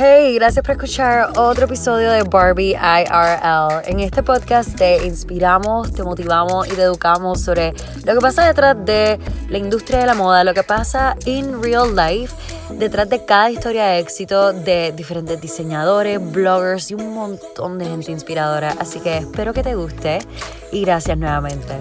Hey, gracias por escuchar otro episodio de Barbie IRL. En este podcast te inspiramos, te motivamos y te educamos sobre lo que pasa detrás de la industria de la moda, lo que pasa in real life, detrás de cada historia de éxito de diferentes diseñadores, bloggers y un montón de gente inspiradora. Así que espero que te guste y gracias nuevamente.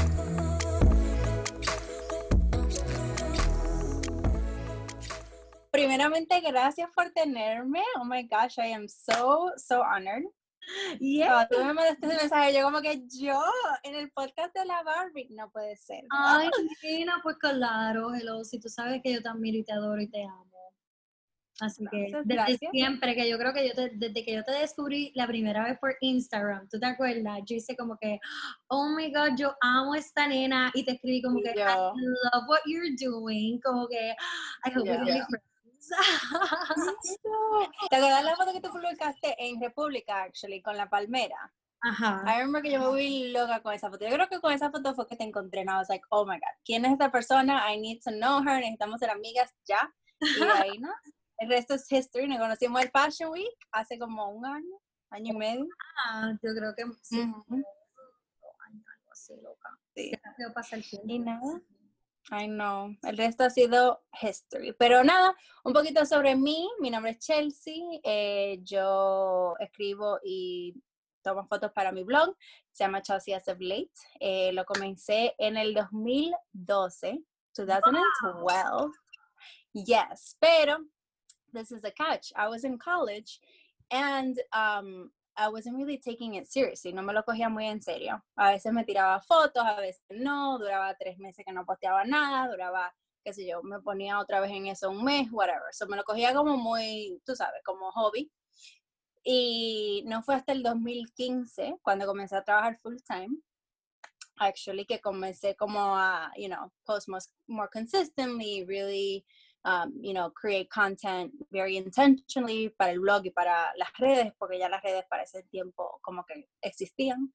Primeramente, gracias por tenerme. Oh my gosh, I am so honored. Yeah. Tú me mandaste ese mensaje, yo como que yo en el podcast de la Barbie, no puede ser. Ay, Nina, pues claro, hello, si tú sabes que yo te admiro y te adoro y te amo. Así que desde siempre, que yo creo que desde que yo te descubrí la primera vez por Instagram, ¿tú te acuerdas? Yo hice como que, oh my God, yo amo a esta nena, y te escribí como que, I love what you're doing, como que, I hope we can be friends. ¿Te acuerdas la foto que tú publicaste en República, actually, con la palmera? Ajá. I remember que yo me volví loca con esa foto. Yo creo que con esa foto fue que te encontré. And I was like, oh my God, ¿quién es esta persona? I need to know her. Necesitamos ser amigas ya. Y ahí, ¿no? El resto es history. Nos conocimos el Fashion Week hace como un año y medio. Yo creo que sí. Algo así, loca. Sí. Qué rápido pasa el tiempo. Y nada. I know. El resto ha sido history. Pero nada, un poquito sobre mí. Mi nombre es Chelsea. Yo escribo y tomo fotos para mi blog. Se llama Chelsea as of Late. Lo comencé en el 2012. Wow. Yes, pero this is a catch. I was in college and I wasn't really taking it seriously. No me lo cogía muy en serio. A veces me tiraba fotos, a veces no. Duraba 3 meses que no posteaba nada. Duraba, qué sé yo, me ponía otra vez en eso un mes, whatever. So me lo cogía como muy, tú sabes, como hobby. Y no fue hasta el 2015 cuando comencé a trabajar full time. Actually, que comencé como a, post more consistently, really, create content very intentionally para el blog y para las redes, porque ya las redes para ese tiempo como que existían.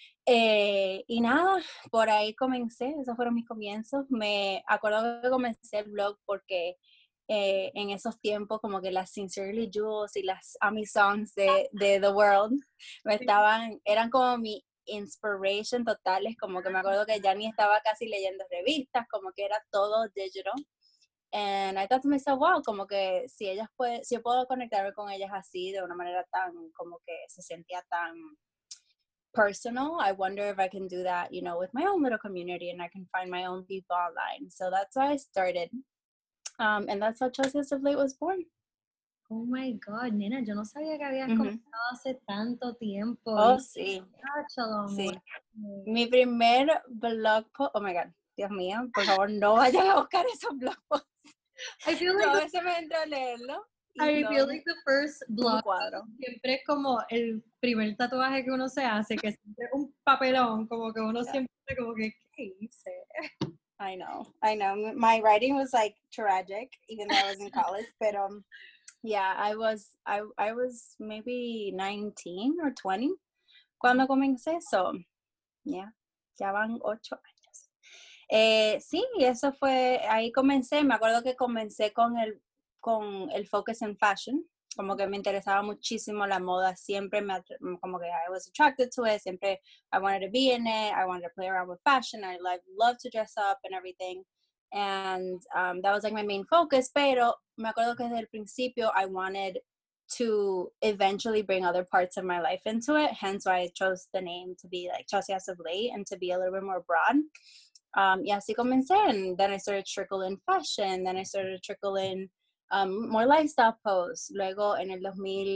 Y nada, por ahí comencé, esos fueron mis comienzos. Me acuerdo que comencé el blog porque en esos tiempos como que las Sincerely Jules y las Ami Songs de The World eran como mi inspiration totales, como que me acuerdo que ya ni estaba casi leyendo revistas, como que era todo digital. And I thought to myself, wow, como que si yo puedo conectarme con ellas así de una manera tan, como que se sentía tan personal, I wonder if I can do that, with my own little community and I can find my own people online. So that's why I started. And that's how Chelsea as of Late was born. Oh my God, nena, yo no sabía que habías comenzado hace tanto tiempo. Oh, sí. Sí. Mi primer blog post, oh my God, Dios mío, por favor, no vayan a buscar esos blog posts. I feel like a veces me entro a leerlo. I feel like the first blog siempre es como el primer tatuaje que uno se hace, que siempre es un papelón, como que uno siempre como que, ¿qué hice? I know. My writing was like tragic, even though I was in college, but yeah, I was maybe 19 or 20 cuando comencé, so yeah, ya van 8 años. Sí, eso fue, ahí comencé, me acuerdo que comencé con el focus en fashion, como que me interesaba muchísimo la moda, siempre como que I was attracted to it, siempre I wanted to be in it, I wanted to play around with fashion, I love to dress up and everything, and that was like my main focus, pero me acuerdo que desde el principio I wanted to eventually bring other parts of my life into it, hence why I chose the name to be like Chelsea as of Late and to be a little bit more broad. Y así comencé, and then I started to trickle in fashion, then I started to trickle in more lifestyle posts. Luego en el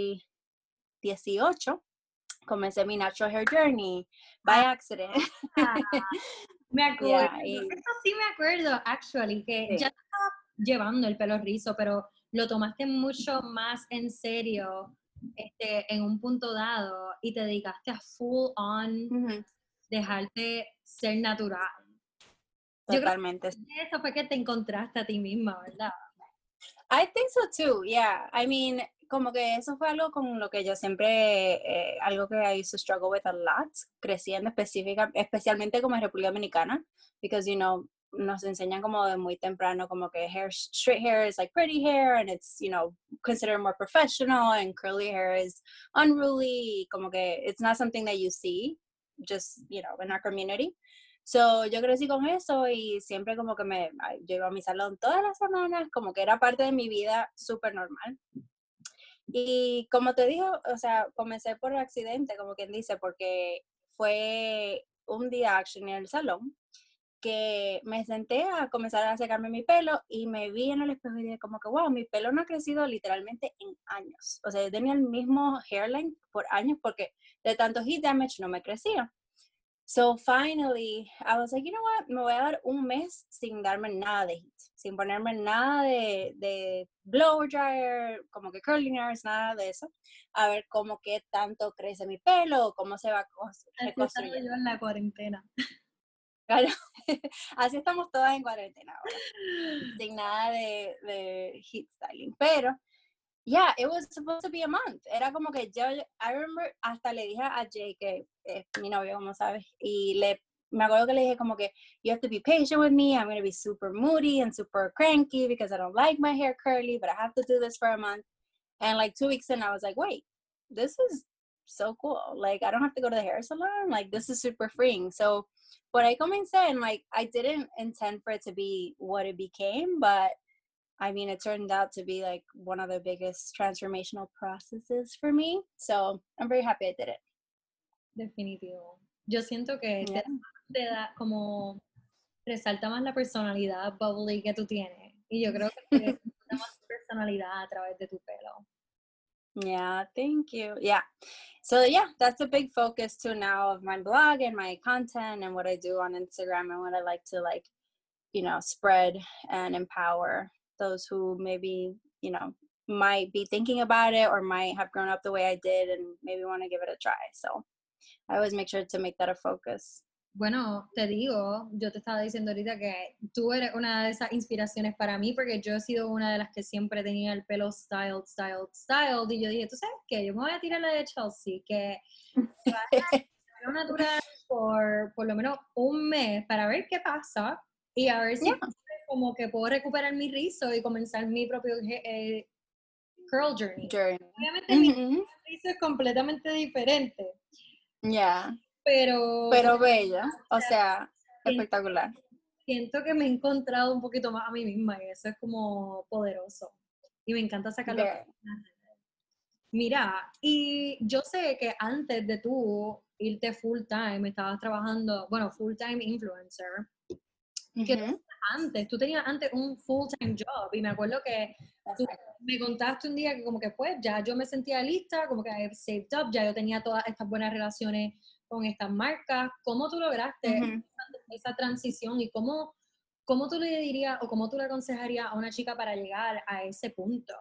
2018 comencé mi natural hair journey by accident. Me acuerdo, esto sí me acuerdo, actually, que ya estaba llevando el pelo rizo, pero lo tomaste mucho más en serio en un punto dado y te dedicaste a full on dejarte ser natural. Totalmente. Yo creo que eso fue que te encontraste a ti misma, ¿verdad? I think so too, yeah. I mean, como que eso fue algo con lo que yo siempre, algo que I used to struggle with a lot, creciendo especialmente como en República Dominicana, because, nos enseñan como de muy temprano como que straight hair is like pretty hair and it's, considered more professional, and curly hair is unruly, como que it's not something that you see just, in our community. So, yo crecí con eso y siempre como que yo iba a mi salón todas las semanas, como que era parte de mi vida súper normal. Y como te digo, o sea, comencé por accidente, como quien dice, porque fue un día actually en el salón que me senté a comenzar a secarme mi pelo y me vi en el espejo y dije como que, wow, mi pelo no ha crecido literalmente en años. O sea, yo tenía el mismo hairline por años porque de tanto heat damage no me crecía. So finally, I was like, you know what, me voy a dar un mes sin darme nada de heat, sin ponerme nada de blower dryer, como que curling irons, nada de eso, a ver cómo qué tanto crece mi pelo, cómo se va reconstruyendo. Así yo en la cuarentena. Claro, así estamos todas en cuarentena ahora, sin nada de heat styling, pero yeah, it was supposed to be a month. Era como que I remember, hasta le dije a Jay, que es mi novio, como sabes, y me acuerdo que le dije como que, you have to be patient with me, I'm going to be super moody and super cranky because I don't like my hair curly, but I have to do this for a month. And like 2 weeks in, I was like, wait, this is so cool. Like, I don't have to go to the hair salon. Like, this is super freeing. So, what I comencé, and like, I didn't intend for it to be what it became, but I mean, it turned out to be like one of the biggest transformational processes for me. So I'm very happy I did it. Definitivo. Yo siento que te da como resalta más la personalidad bubbly que tú tienes. Y yo creo que te resalta más tu personalidad a través de tu pelo. Yeah, thank you. Yeah. So yeah, that's a big focus too now of my blog and my content and what I do on Instagram and what I like to spread and empower those who maybe, might be thinking about it or might have grown up the way I did and maybe want to give it a try. So I always make sure to make that a focus. Bueno, te digo, yo te estaba diciendo ahorita que tú eres una de esas inspiraciones para mí porque yo he sido una de las que siempre tenía el pelo styled y yo dije, ¿tú sabes qué? Yo me voy a tirar la de Chelsea, que va a estar natural por lo menos un mes para ver qué pasa y a ver si como que puedo recuperar mi rizo y comenzar mi propio curl journey. Obviamente mi rizo es completamente diferente. Yeah. Pero bella, o sea, espectacular. Siento que me he encontrado un poquito más a mí misma y eso es como poderoso. Y me encanta sacarlo. Mira, y yo sé que antes de tú irte full time, estabas trabajando, full time influencer. Tú tenías antes un full time job y me acuerdo que tú me contaste un día que como que pues ya yo me sentía lista, como que I saved up, ya yo tenía todas estas buenas relaciones con estas marcas. ¿Cómo tú lograste esa transición y cómo tú le dirías o cómo tú le aconsejarías a una chica para llegar a ese punto?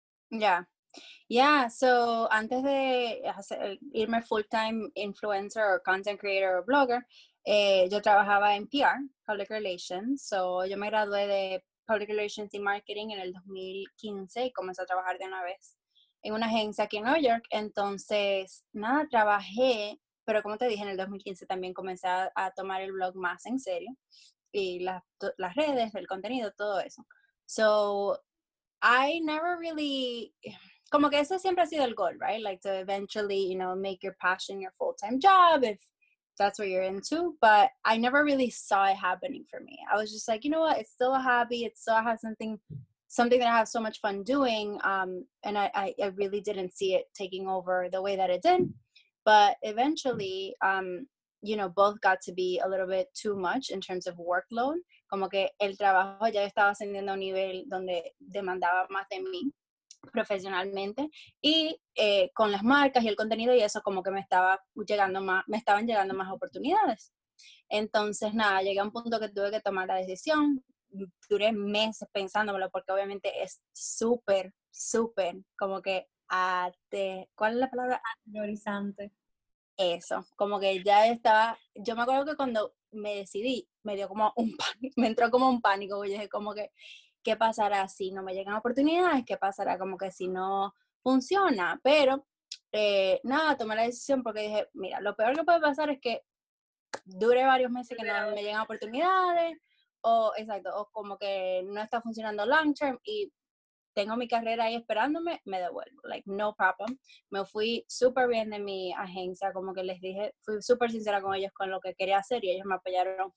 Yeah, so antes de irme full-time influencer o content creator o blogger, yo trabajaba en PR, Public Relations. So yo me gradué de Public Relations y Marketing en el 2015 y comencé a trabajar de una vez en una agencia aquí en Nueva York. Entonces, nada, trabajé, pero como te dije, en el 2015 también comencé a tomar el blog más en serio y las redes, el contenido, todo eso. So, I never really, como que ese siempre ha sido el goal, right? Like to eventually, make your passion your full-time job if that's what you're into. But I never really saw it happening for me. I was just like, you know what? It's still a hobby. It still has something that I have so much fun doing. And I really didn't see it taking over the way that it did. But eventually, both got to be a little bit too much in terms of workload. Como que el trabajo ya estaba ascendiendo a un nivel donde demandaba más de mí profesionalmente y con las marcas y el contenido y eso como que me estaban llegando más oportunidades. Entonces, nada, llegué a un punto que tuve que tomar la decisión. Duré meses pensándomelo porque obviamente es súper, súper como que ¿cuál es la palabra? Aterrorizante. Eso, como que ya estaba, yo me acuerdo que cuando me decidí, me dio como un pánico, me entró como un pánico, yo dije como que, ¿qué pasará si no me llegan oportunidades? ¿Qué pasará como que si no funciona? Pero, nada, tomé la decisión porque dije, mira, lo peor que puede pasar es que dure varios meses que no me llegan oportunidades, exacto, o como que no está funcionando long term y tengo mi carrera ahí esperándome, me devuelvo, like, no problem. Me fui súper bien de mi agencia, como que les dije, fui súper sincera con ellos con lo que quería hacer y ellos me apoyaron.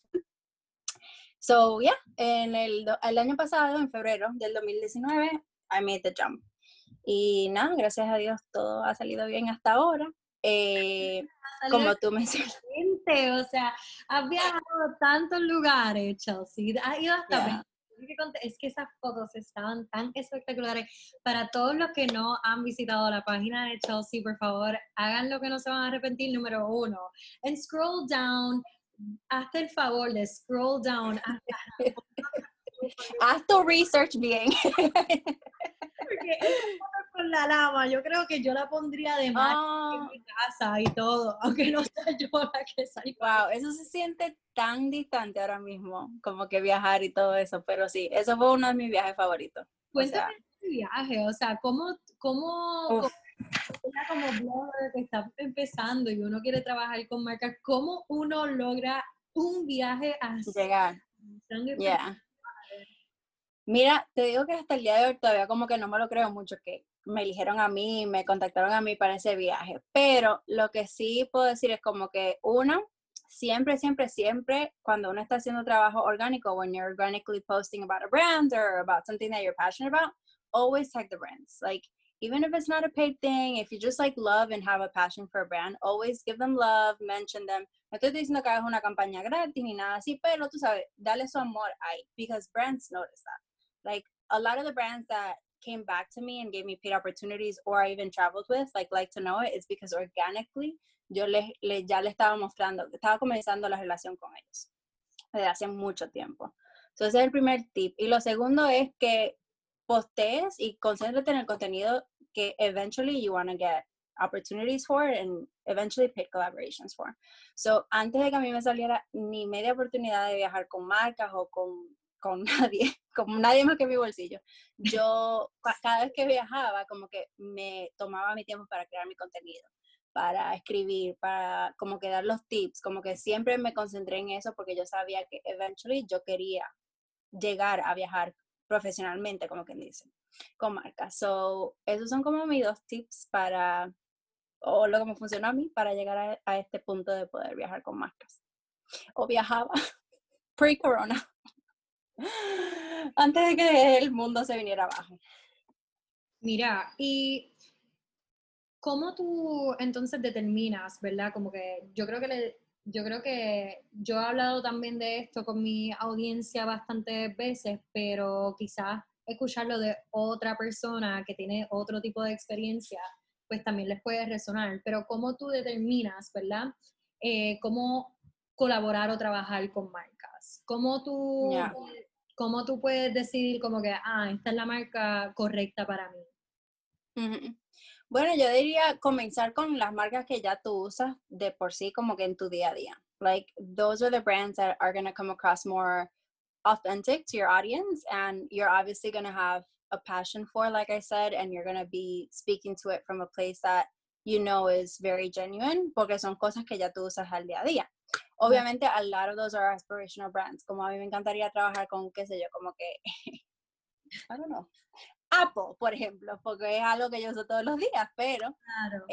So, yeah, el año pasado, en febrero del 2019, I made the jump. Y nada, gracias a Dios todo ha salido bien hasta ahora. Como tú mencionas. O sea, has viajado a tantos lugares, Chelsea. Has ido hasta Yeah. Es que esas fotos estaban tan espectaculares. Para todos los que no han visitado la página de Chelsea, por favor, hagan lo que no se van a arrepentir, número 1. And scroll down, hazte el favor de scroll down hasta Haz tu research bien. porque esa foto con la lama, yo creo que yo la pondría de más en mi casa y todo, aunque no sea yo la que salga. Wow, eso se siente tan distante ahora mismo, como que viajar y todo eso, pero sí, eso fue uno de mis viajes favoritos. Cuéntame tu viaje, o sea, ¿cómo como blogger que está empezando y uno quiere trabajar con marcas, cómo uno logra un viaje así? Llegar. Yeah. Mira, te digo que hasta el día de hoy todavía como que no me lo creo mucho que me eligieron a mí, me contactaron a mí para ese viaje, pero lo que sí puedo decir es como que uno, siempre, cuando uno está haciendo trabajo orgánico, when you're organically posting about a brand or about something that you're passionate about, always tag the brands. Like, even if it's not a paid thing, if you just like love and have a passion for a brand, always give them love, mention them. No estoy diciendo que hagas una campaña gratis ni nada así, pero tú sabes, dale su amor ahí, because brands notice that. Like, a lot of the brands that came back to me and gave me paid opportunities or I even traveled with, like to know it, is because organically yo ya le estaba mostrando, estaba comenzando la relación con ellos desde hace mucho tiempo. Entonces, ese es el primer tip. Y lo segundo es que postees y concéntrate en el contenido que eventually you want to get opportunities for and eventually paid collaborations for. So, antes de que a mí me saliera ni media oportunidad de viajar con marcas o con nadie, como nadie más que mi bolsillo, yo cada vez que viajaba como que me tomaba mi tiempo para crear mi contenido, para escribir, para como que dar los tips, como que siempre me concentré en eso porque yo sabía que eventually yo quería llegar a viajar profesionalmente, como quien dice, con marcas. So, esos son como mis 2 tips o lo que me funcionó a mí para llegar a este punto de poder viajar con marcas. O viajaba pre-corona. Antes de que el mundo se viniera abajo. Mira, y ¿cómo tú entonces determinas, verdad? Como que yo creo que yo he hablado también de esto con mi audiencia bastantes veces, pero quizás escucharlo de otra persona que tiene otro tipo de experiencia, pues también les puede resonar. Pero ¿cómo tú determinas, verdad? ¿Cómo colaborar o trabajar con marcas? ¿Cómo tú puedes decidir como que, esta es la marca correcta para mí? Uh-huh. Bueno, yo diría comenzar con las marcas que ya tú usas de por sí como que en tu día a día. Like, those are the brands that are going to come across more authentic to your audience, and you're obviously going to have a passion for, like I said, and you're going to be speaking to it from a place that you know is very genuine, porque son cosas que ya tú usas al día a día. Obviamente, a lot of those are aspirational brands. Como a mí me encantaría trabajar con, qué sé yo, como que, I don't know, Apple, por ejemplo, porque es algo que yo uso todos los días, pero Claro.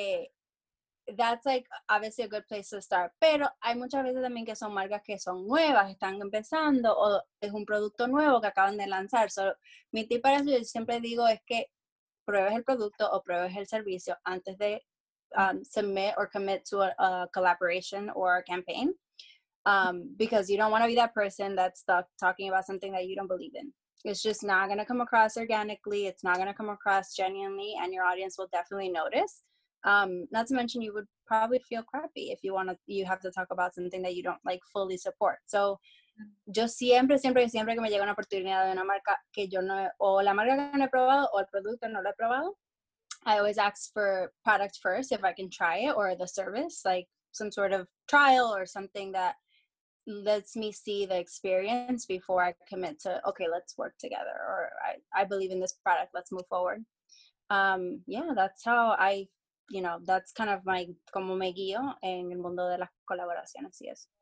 That's like obviously a good place to start. Pero hay muchas veces también que son marcas que son nuevas, están empezando, o es un producto nuevo que acaban de lanzar. So, mi tip para eso, yo siempre digo, es que pruebes el producto o pruebes el servicio antes de submit or commit to a collaboration or a campaign, because you don't want to be that person that's stuck talking about something that you don't believe in. It's just not going to come across organically. It's not going to come across genuinely, and your audience will definitely notice. Not to mention, you would probably feel crappy if you have to talk about something that you don't like fully support. So, yo siempre que me llega una oportunidad de una marca que yo no, o la marca que no he probado, o el producto no lo he probado, I always ask for product first if I can try it, or the service, like some sort of trial or something that lets me see the experience before I commit to, okay, let's work together, or I believe in this product, let's move forward. Yeah, that's how that's kind of como me guío en el mundo de las colaboraciones y eso.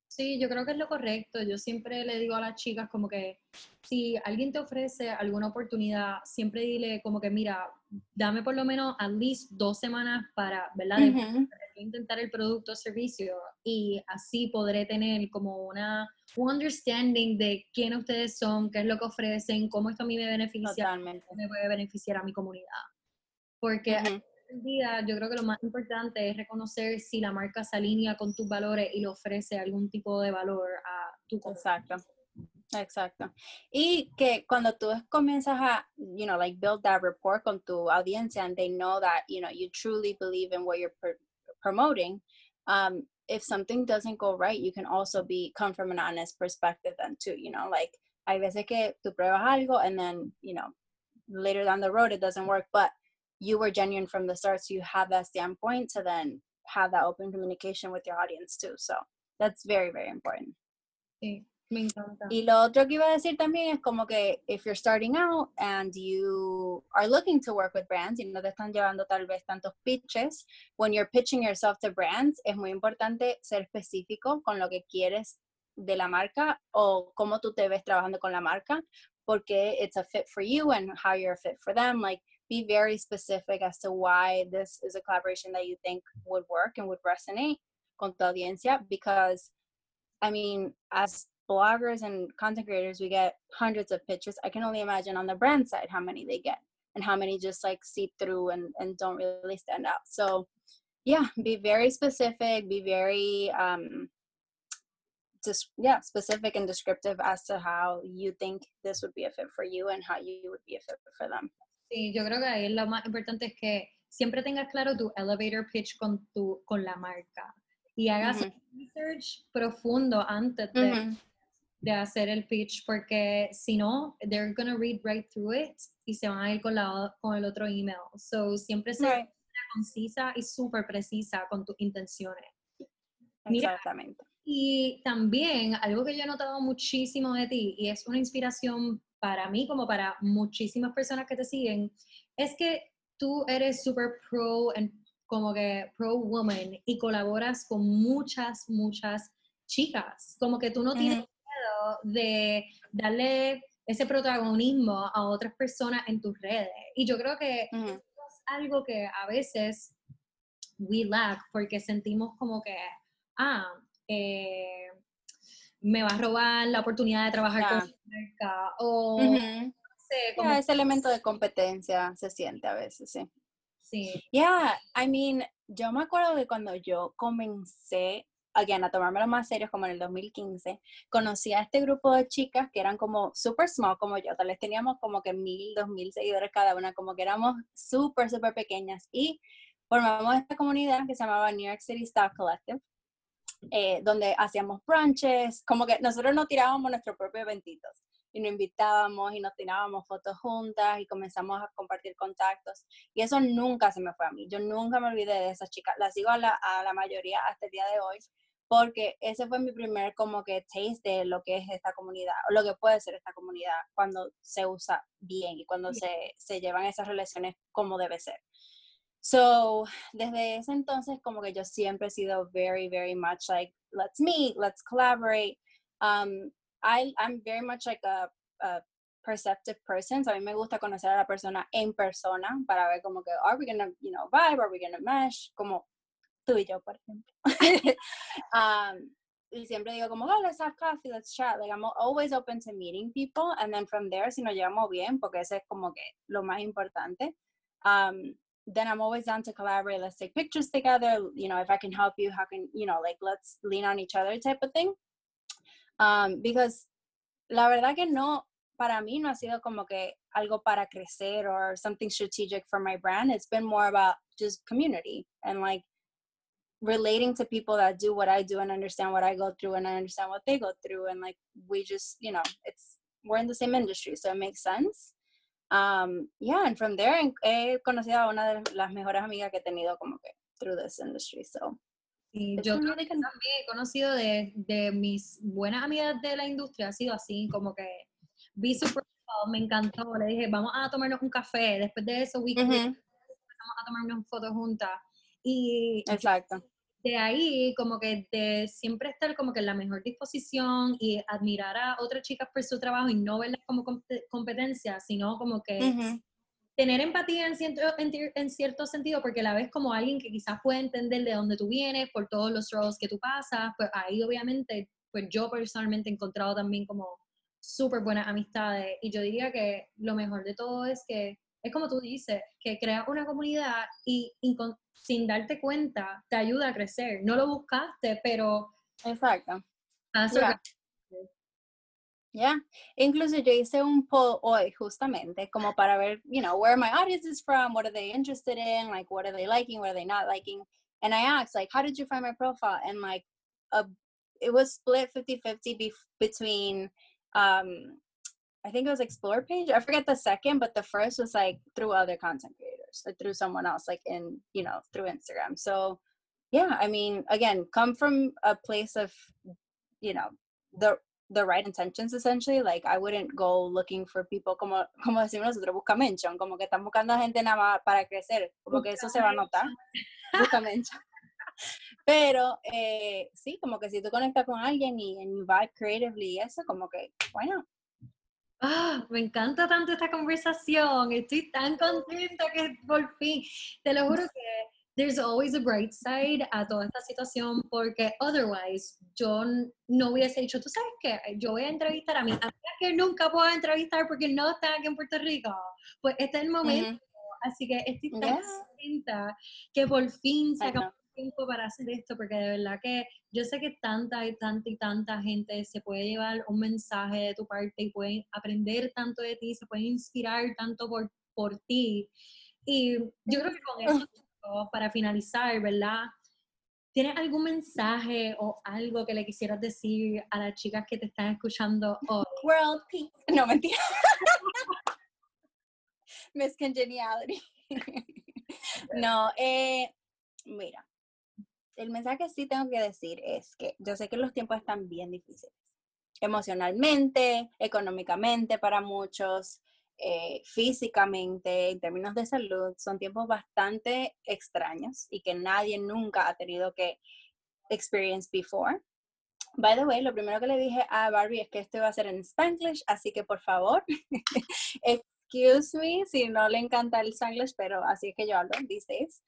Sí, yo creo que es lo correcto. Yo siempre le digo a las chicas como que si alguien te ofrece alguna oportunidad, siempre dile como que mira, dame por lo menos at least 2 semanas para, ¿verdad? De intentar el producto o servicio y así podré tener como un understanding de quiénes ustedes son, qué es lo que ofrecen, cómo esto a mí me beneficia, Totalmente. me puede beneficiar a mi comunidad. Porque Ujú. el día, yo creo que lo más importante es reconocer si la marca se alinea con tus valores y le ofrece algún tipo de valor a tu comunidad. Exacto. Exacto. Y que cuando tú comienzas a, like build that rapport con tu audiencia and they know that, you truly believe in what you're promoting, if something doesn't go right, you can also come from an honest perspective then too, like hay veces que tú pruebas algo and then, later down the road it doesn't work, but you were genuine from the start, so you have that standpoint to then have that open communication with your audience too. So that's very, very important. Sí, me encanta. Y lo otro que iba a decir también es como que if you're starting out and you are looking to work with brands y no te están llevando tal vez tantos pitches, when you're pitching yourself to brands, es muy importante ser específico con lo que quieres de la marca o cómo tú te ves trabajando con la marca, porque it's a fit for you and how you're a fit for them. Like, be very specific as to why this is a collaboration that you think would work and would resonate con tu audiencia, because I mean, as bloggers and content creators, we get hundreds of pitches. I can only imagine on the brand side how many they get and how many just like seep through and don't really stand out. So yeah, be very specific, be very specific and descriptive as to how you think this would be a fit for you and how you would be a fit for them. Sí, yo creo que ahí lo más importante es que siempre tengas claro tu elevator pitch con la marca y hagas un research profundo antes de hacer el pitch, porque si no, they're gonna read right through it y se van a ir con el otro email. So, siempre ser concisa y súper precisa con tus intenciones. Mira, exactamente. y también algo que yo he notado muchísimo de ti y es una inspiración para mí como para muchísimas personas que te siguen, es que tú eres súper como que pro woman y colaboras con muchas chicas, como que tú no tienes miedo de darle ese protagonismo a otras personas en tus redes. Y yo creo que es algo que a veces we lack porque sentimos como que, me va a robar la oportunidad de trabajar con la marca o no sé, como ese elemento de competencia se siente a veces, sí. Sí. Yeah, I mean, yo me acuerdo de cuando yo comencé, again, a tomármelo más serio, como en el 2015, conocí a este grupo de chicas que eran como super small como yo, tal vez teníamos como que 1,000, 2,000 seguidores cada una, como que éramos súper pequeñas y formamos esta comunidad que se llamaba New York City Style Collective, donde hacíamos brunches, como que nosotros nos tirábamos nuestros propios eventitos y nos invitábamos y nos tirábamos fotos juntas y comenzamos a compartir contactos y eso nunca se me fue a mí, yo nunca me olvidé de esas chicas, las sigo a la mayoría hasta el día de hoy porque ese fue mi primer como que taste de lo que es esta comunidad o lo que puede ser esta comunidad cuando se usa bien y cuando se llevan esas relaciones como debe ser. So, desde ese entonces, como que yo siempre he sido very, very much like, let's meet, let's collaborate. I'm very much like a perceptive person, so a mí me gusta conocer a la persona en persona para ver como que, are we gonna, vibe, are we gonna mesh, como tú y yo, por ejemplo. Y siempre digo como, oh, let's have coffee, let's chat. Like, I'm always open to meeting people, and then from there, si nos llevamos bien, porque ese es como que lo más importante, then I'm always down to collaborate. Let's take pictures together. If I can help you, how can, like, let's lean on each other type of thing. Because la verdad que no, para mí no ha sido como que algo para crecer or something strategic for my brand. It's been more about just community and like relating to people that do what I do and understand what I go through and I understand what they go through. And like, we just, we're in the same industry, so it makes sense. And from there he conocido a una de las mejores amigas que he tenido como que through this industry, so sí, yo creo que también he conocido de mis buenas amigas de la industria, ha sido así, como que vi super cool, me encantó, le dije, vamos a tomarnos un café, después de eso empezamos a tomarnos fotos juntas, y exacto. de ahí, como que de siempre estar como que en la mejor disposición y admirar a otras chicas por su trabajo y no verlas como competencia, sino como que tener empatía en cierto sentido, porque la ves como alguien que quizás puede entender de dónde tú vienes, por todos los struggles que tú pasas, pues ahí obviamente, pues yo personalmente he encontrado también como súper buenas amistades, y yo diría que lo mejor de todo es que, es como tú dices, que creas una comunidad y sin darte cuenta te ayuda a crecer. No lo buscaste, pero... Exacto. Yeah. Yeah. Incluso yo hice un poll hoy justamente como para ver, you know, where my audience is from, what are they interested in, like what are they liking, what are they not liking. And I asked, like, how did you find my profile? And like, it was split 50-50 between, I think it was Explore page. I forget the second, but the first was like through other content creators, or through someone else, like in, you know, through Instagram. So yeah, I mean, again, come from a place of, you know, the right intentions, essentially. Like I wouldn't go looking for people como decimos nosotros, busca mention, como que están buscando gente nada más para crecer, como que eso se va a notar, busca mention. Pero sí, como que si tú conectas con alguien y you vibe creatively, eso como que, bueno. Me encanta tanto esta conversación, estoy tan contenta que por fin, te lo juro que there's always a bright side a toda esta situación, porque otherwise yo no hubiese dicho, tú sabes qué, yo voy a entrevistar a mi amiga que nunca puedo entrevistar porque no está aquí en Puerto Rico, pues este es el momento, así que estoy tan contenta que por fin sacamos tiempo para hacer esto, porque de verdad que yo sé que tanta gente se puede llevar un mensaje de tu parte y pueden aprender tanto de ti, se pueden inspirar tanto por ti, y yo creo que con eso, para finalizar, ¿verdad? ¿Tienes algún mensaje o algo que le quisieras decir a las chicas que te están escuchando hoy? World peace. No, mentira. Miss Congeniality. No, mira, el mensaje que sí tengo que decir es que yo sé que los tiempos están bien difíciles, emocionalmente, económicamente para muchos, físicamente, en términos de salud, son tiempos bastante extraños y que nadie nunca ha tenido que experience before. By the way, lo primero que le dije a Barbie es que esto iba a ser en Spanglish, así que por favor, excuse me si no le encanta el Spanglish, pero así es que yo hablo these days.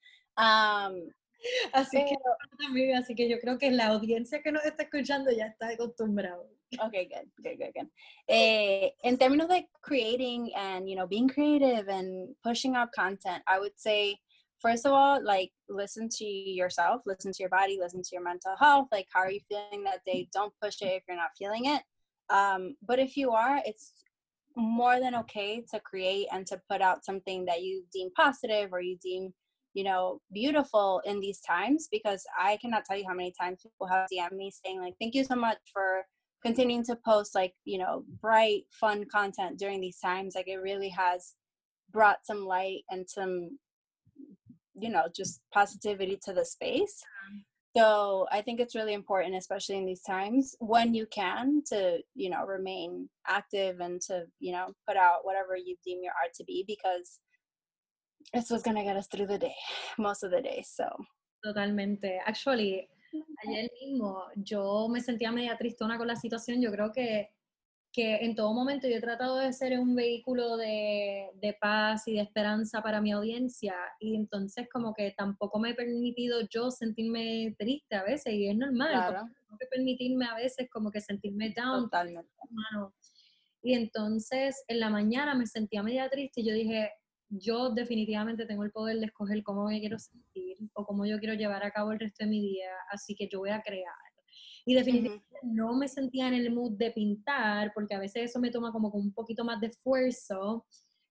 Así que yo creo que la audiencia que nos está escuchando ya está acostumbrada. Okay, good. In términos de creating and, you know, being creative and pushing out content, I would say, first of all, like, listen to yourself, listen to your body, listen to your mental health. Like, how are you feeling that day? Don't push it if you're not feeling it. But if you are, it's more than okay to create and to put out something that you deem positive or you deem, you know, beautiful in these times, because I cannot tell you how many times people have DM'd me saying, like, thank you so much for continuing to post, like, you know, bright, fun content during these times. Like, it really has brought some light and some, you know, just positivity to the space. So I think it's really important, especially in these times, when you can, to, you know, remain active and to, you know, put out whatever you deem your art to be, because it's what's going to get us through the day, most of the day. So. Totalmente. Actually, ayer mismo yo me sentía media tristona con la situación. Yo creo que en todo momento yo he tratado de ser un vehículo de paz y de esperanza para mi audiencia, y entonces como que tampoco me he permitido yo sentirme triste a veces, y es normal, Claro. Tengo que permitirme a veces como que sentirme down. Totalmente. Y entonces en la mañana me sentía media triste y yo dije, yo definitivamente tengo el poder de escoger cómo me quiero sentir o cómo yo quiero llevar a cabo el resto de mi día, así que yo voy a crear. Y definitivamente no me sentía en el mood de pintar, porque a veces eso me toma como con un poquito más de esfuerzo.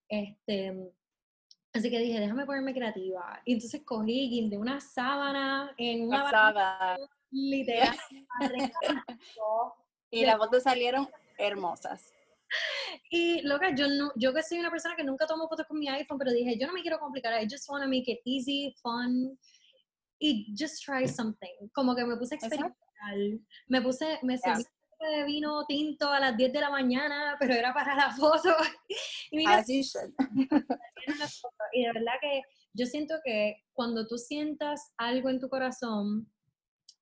Así que dije, déjame ponerme creativa. Y entonces cogí, guindé una sábana en una sábana, literal. Y las fotos salieron hermosas. Y loca, yo que soy una persona que nunca tomo fotos con mi iPhone, pero dije, yo no me quiero complicar, I just want to make it easy, fun, y just try something. Como que me puse a experimentar. Me serví de vino tinto a las 10 de la mañana, pero era para la foto. Y mira, As you should. Y de verdad que yo siento que cuando tú sientas algo en tu corazón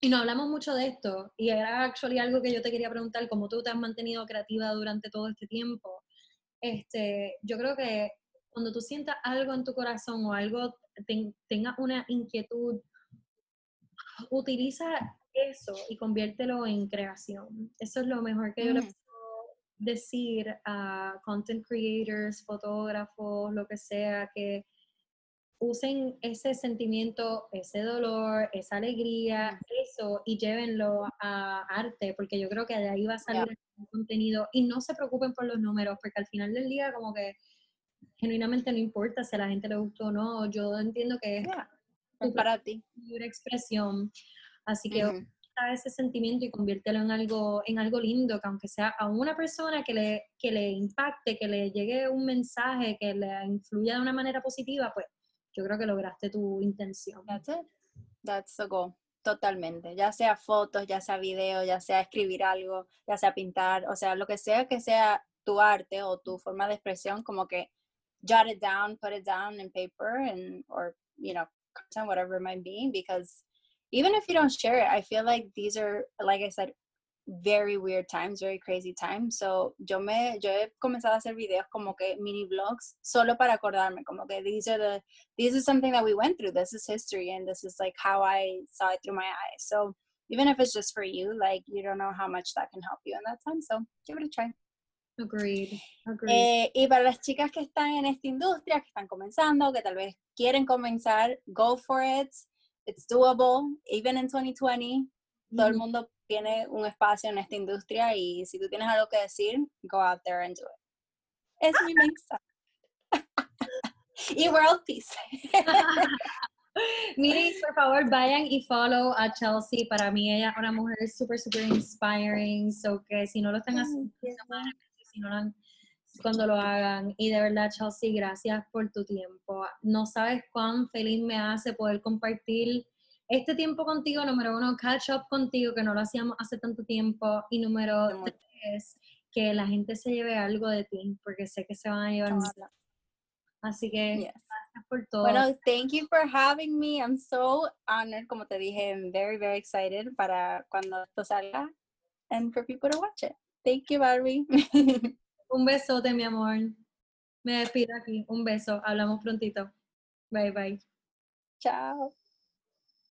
Y no hablamos mucho de esto, y era actually algo que yo te quería preguntar, cómo tú te has mantenido creativa durante todo este tiempo. Yo creo que cuando tú sientas algo en tu corazón o algo, tengas una inquietud, utiliza eso y conviértelo en creación. Eso es lo mejor que yo le puedo decir a content creators, fotógrafos, lo que sea, que usen ese sentimiento, ese dolor, esa alegría, eso, y llévenlo a arte, porque yo creo que de ahí va a salir el contenido. Y no se preocupen por los números, porque al final del día como que genuinamente no importa si a la gente le gustó o no. Yo entiendo que es para ti. Libre expresión. Así que usa ese sentimiento y conviértelo en algo lindo, que aunque sea a una persona que le impacte, que le llegue un mensaje, que le influya de una manera positiva, pues yo creo que lograste tu intención. That's it. That's the goal. Totalmente. Ya sea fotos, ya sea video, ya sea escribir algo, ya sea pintar, o sea, lo que sea tu arte o tu forma de expresión, como que jot it down, put it down in paper or, you know, content, whatever it might be, because even if you don't share it, I feel like these are, like I said, very weird times, very crazy times. So yo he comenzado a hacer videos como que mini vlogs solo para acordarme, como que this is something that we went through, this is history, and this is like how I saw it through my eyes. So even if it's just for you, like you don't know how much that can help you in that time, so give it a try. Agreed. Y para las chicas que están en esta industria, que están comenzando, que tal vez quieren comenzar, go for it. It's doable, even in 2020. Todo el mundo tiene un espacio en esta industria, y si tú tienes algo que decir, go out there and do it. Es mi mensaje. Y world peace. Miren, por favor, vayan y follow a Chelsea. Para mí ella es una mujer súper, súper inspiring. So que si no lo están haciendo, si no lo han, cuando lo hagan. Y de verdad, Chelsea, gracias por tu tiempo. No sabes cuán feliz me hace poder compartir este tiempo contigo. Número 1, catch up contigo, que no lo hacíamos hace tanto tiempo. Y número 3, que la gente se lleve algo de ti, porque sé que se van a llevar mucho. Así que gracias por todo. Bueno, thank you for having me. I'm so honored. Como te dije, I'm very, very excited para cuando esto salga and for people to watch it. Thank you, Barbie. Un besote, mi amor. Me despido aquí. Un beso. Hablamos prontito. Bye, bye. Chao.